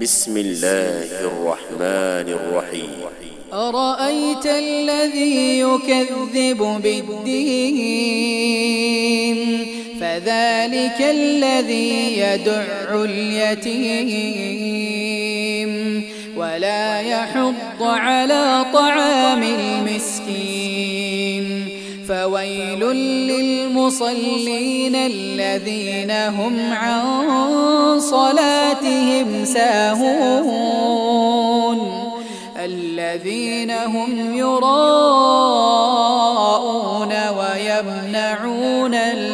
بسم الله الرحمن الرحيم. أرأيت الذي يكذب بالدين فذلك الذي يدع اليتيم ولا يحض على طعام المسكين فويل للمصلين الذين هم عن صلاتهم ساهون الذين هم يراءون ويمنعون